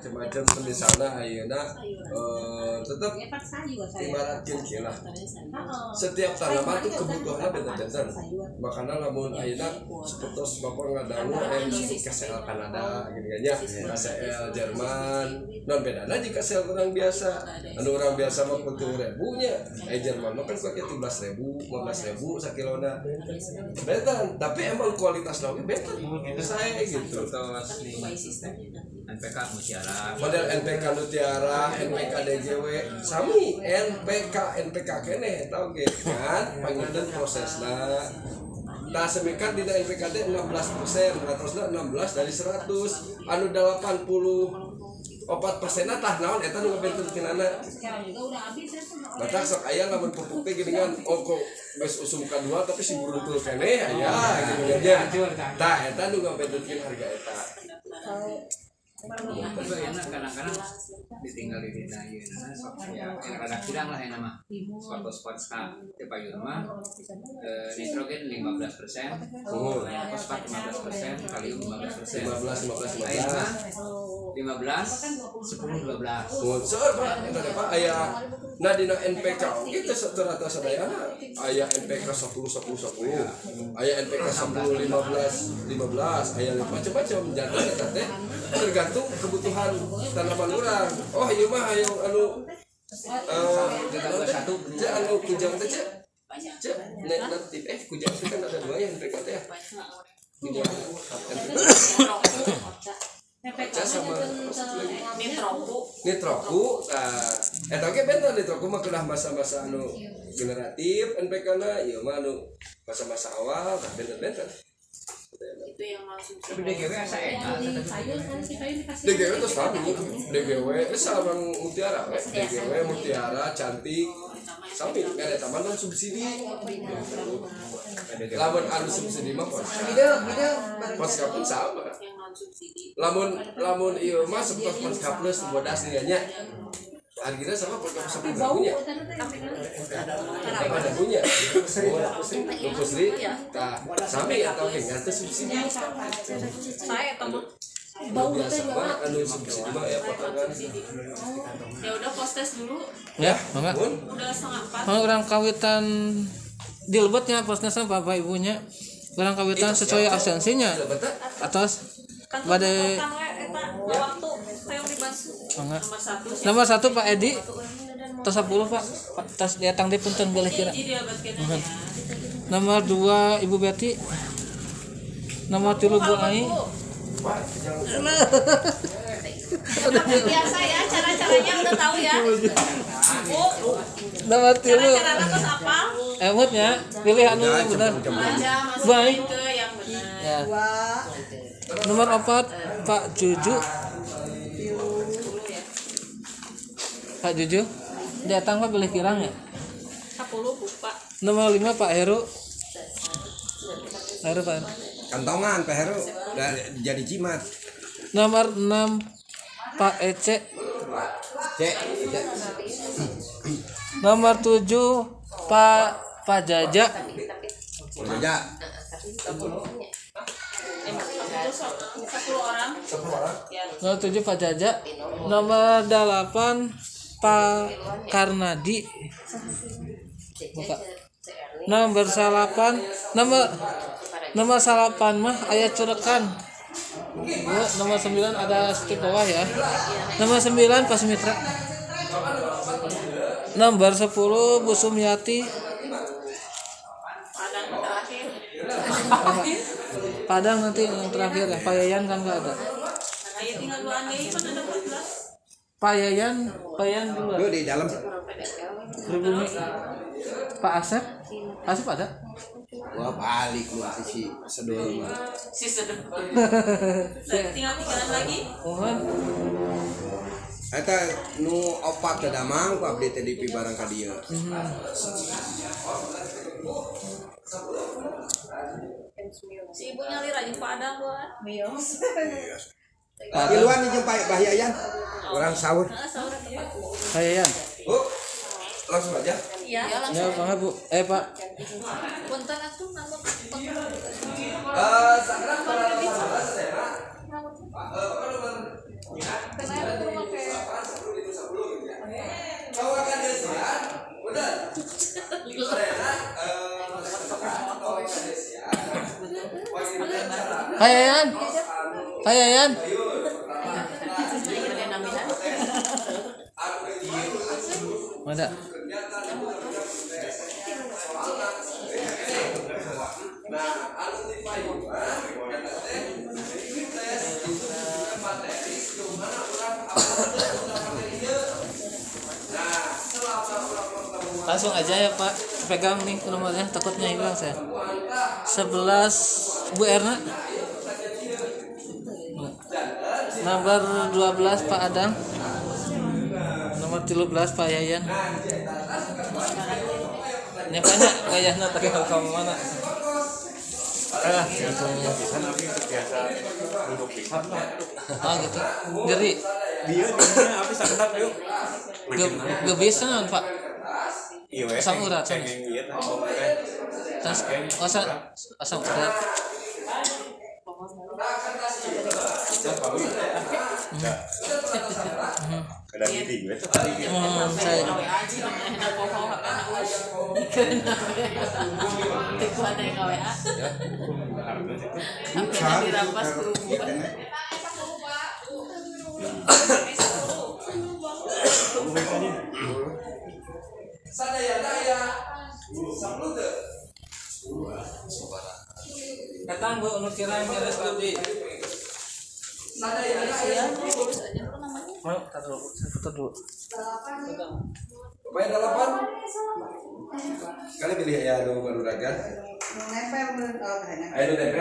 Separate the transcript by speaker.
Speaker 1: macam-macam misalnya ayeuna tetap ibaratkeun kieu lah. Setiap tanaman tuh kebutuhannya beda-beda. Makanya lamun ayeuna sapertos Bapak ngadangu KCL Kanada gini kan ya. KCL Jerman. Non bedana jika KCL orang biasa. Anu orang biasa mah 40.000 nya. Jerman mah kan pakai 13.000, 15.000 sakilona. Beda, tapi emang kualitas lauknya beda. Saya gitu.
Speaker 2: NPK Mutiara.
Speaker 1: Model NPK Mutiara, NPK DGW, sami NPK kene tau ge kan panginten prosesna. Nah semikan di NPKD 16%, ratosna 16 dari 100, anu 84% tah naon eta nu ngabentukkeunana. Batak sok aya lamun pupuk teh geuningan kok geus usum kadua tapi si burungtul keneh aya gitu nya. Tah eta nu ngabentukkeun harga eta.
Speaker 2: Kadang-kadang ditinggal di dina ieu sok ya rada kurang lah enak mah. Spot payun mah nitrogen 15%, fosfat 15%, kalium 15%. 15. Air mah 15, 10, 12.
Speaker 1: Seueur Pak, eta teh Pak aya na dina NPK kitu rata sadayana aya NPK 10, aya NPK 10, 15, aya macam-macam jadwal eta teh tergantung kebutuhan tanaman urang. Oh ieu mah aya anu satu anu kujang teh cek natif kujang teh kan ada 2 ya NPK teh ya. Kujang NPK sama nitroku eta ge benta nitroku mah kedah masa-masa anu generatif NPK-na ieu mah anu masa-masa awal tah benta-benta
Speaker 3: itu yang langsung
Speaker 2: tapi DGW asa enak
Speaker 1: DGW itu selalu DGW sarang Mutiara DGW Mutiara cantik sampai nggak ada taman non subsidi lamun anu subsidi mah Poska pun sama lamun ieu mah seperti Poska plus bodas nya harganya sama Poska punya ada punya pusri tak sampai atau kayaknya itu subsidi
Speaker 3: saya tamu
Speaker 1: bau biasa anu subsidi mah ya potongan
Speaker 3: ya udah postes dulu
Speaker 4: ya mangga
Speaker 3: udah 3:30
Speaker 4: orang kawitan dilebetnya posnya bapak ibunya orang kawitan sesuai absensinya atas badai
Speaker 3: waktu saya dibasuh
Speaker 4: nomor 1 Pak Edi tas 10 Pak tas datang di punten boleh kira nomor 2 Ibu Betty nomor 3 Bu Ai
Speaker 3: biasa ya cara-caranya udah tahu ya
Speaker 4: nomor 3
Speaker 3: cara-caranya terus apa
Speaker 4: emutnya pilih anu yang benar Bu Ai
Speaker 3: ke yang benar
Speaker 4: ya. Nomor 4 Pak Juju Pak Juju datang Pak boleh kirang ya
Speaker 3: 10 Pak
Speaker 4: nomor 5 Pak Heru Pak
Speaker 5: kantongan Pak Heru jadi jimat.
Speaker 4: nomor 6 Pak Ece nomor 7 Pak Jaja
Speaker 5: Jaja
Speaker 3: 10 orang
Speaker 4: nomor 7 Pak Jaja nomor 8 Pak Karnadi buka nomor 8 nomor 8 mah aya curekan ya, nomor 9 ada skip bawah ya nomor 9 Pak Sumitra nomor 10 Bu Sumiati Padang nanti yang terakhir ya Pak Yayan kan nggak ada
Speaker 3: tinggal 2 lagi kan ada 14
Speaker 4: Pak Yayan dulu
Speaker 5: Lu di dalam
Speaker 4: Pribumi Pak Asep ada
Speaker 5: gua balik lu si sedul
Speaker 3: si sedep tinggal 3 lagi
Speaker 4: mohon
Speaker 5: eta nu opat teh damang ku abdi teh di barang ka dieu
Speaker 3: si ibu nyali rajin padang buat mios
Speaker 5: Iluan di jempai Bahyayan orang sahur
Speaker 4: Pak Yayan
Speaker 1: langsung aja
Speaker 3: iya
Speaker 4: ya Bang Bu Pak
Speaker 3: punten atuh nama
Speaker 1: sekarang kalau
Speaker 4: Payayan. Payayan. Ada.
Speaker 1: Nah, anu ti payuhan eta teh tes materi gimana urang materi ieu. Nah, selama urang pertemuan
Speaker 4: Langsung aja ya Pak, pegang nih nomornya, takutnya hilang saya. 11 Bu Erna. Nomor 12 Pak Adang. Nomor 13 Pak Yayan. Ini banyak kayaknya tapi kalau kamu mana? Contohnya. Ah gitu. Jadi
Speaker 6: Dia apa sakit yuk.
Speaker 4: gak bisa kan Pak?
Speaker 6: Iya,
Speaker 4: Asam urat. Terus asam urat.
Speaker 6: Kadang gini gue.
Speaker 4: Saya
Speaker 1: sadaya-daya sabludeut.
Speaker 4: datang Bu anu kirang beres di.
Speaker 1: Sadaya-daya
Speaker 4: Mau taruh dulu.
Speaker 1: Pemain 8 kali pilih ya anu baru dagan.
Speaker 7: Nempel menurut
Speaker 1: Ayo nempel.